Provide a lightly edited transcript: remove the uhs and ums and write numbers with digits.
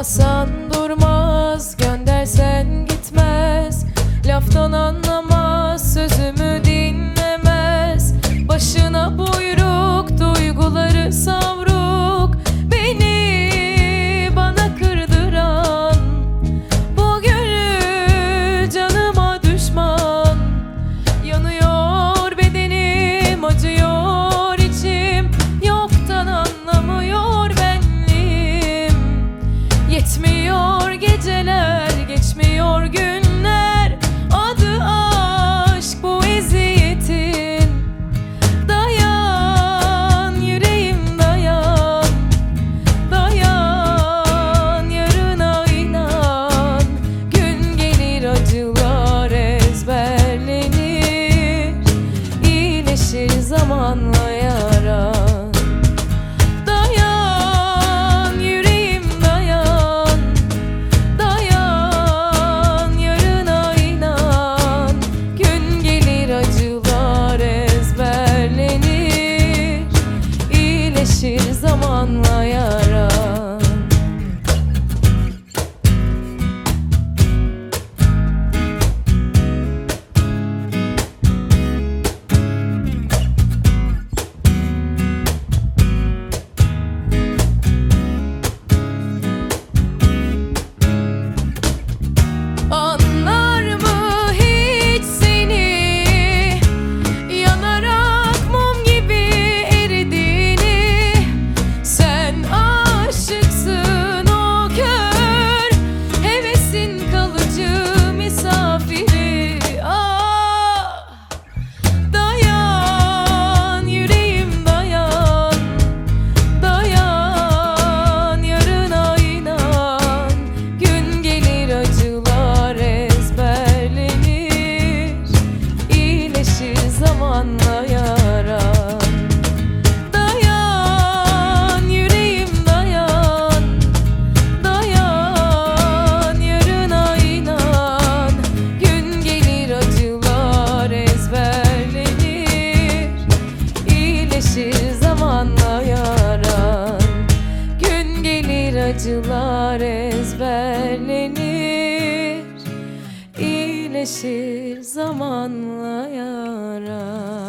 Çağırmasan durmaz, göndersen gitmez. Laftan anlamaz, sözümü dinlemez. Başına buyruk, duyguları savruk. Beni bana kırdıran bu gönül canıma düşman. Yanıyor bedenim, acıyor içim. Yoktan anlamıyor benliğim. Yetmiyor geceler, geçmiyor günler. Adı aşk bu eziyetin. Dayan yüreğim dayan, dayan yarına inan. Gün gelir acılar ezberlenir, iyileşir zamanla yaran. Dayan yüreğim dayan, dayan yarına inan. Gün gelir acılar ezberlenir, iyileşir zamanla yaran. Anlar mı hiç seni, yanarak mum gibi eridiğini? Sen aşıksın o kör, hevesin kalıcı misafiri. Ah, dayan yüreğim dayan, dayan yarına inan. Gün gelir acılar ezberlenir, iyileşir zamanla yaran. Dayan yüreğim dayan, dayan yarına inan. Gün gelir acılar ezberlenir, iyileşir zamanla yaran. Gün gelir acılar ezberlenir, iyileşir zamanla yaran.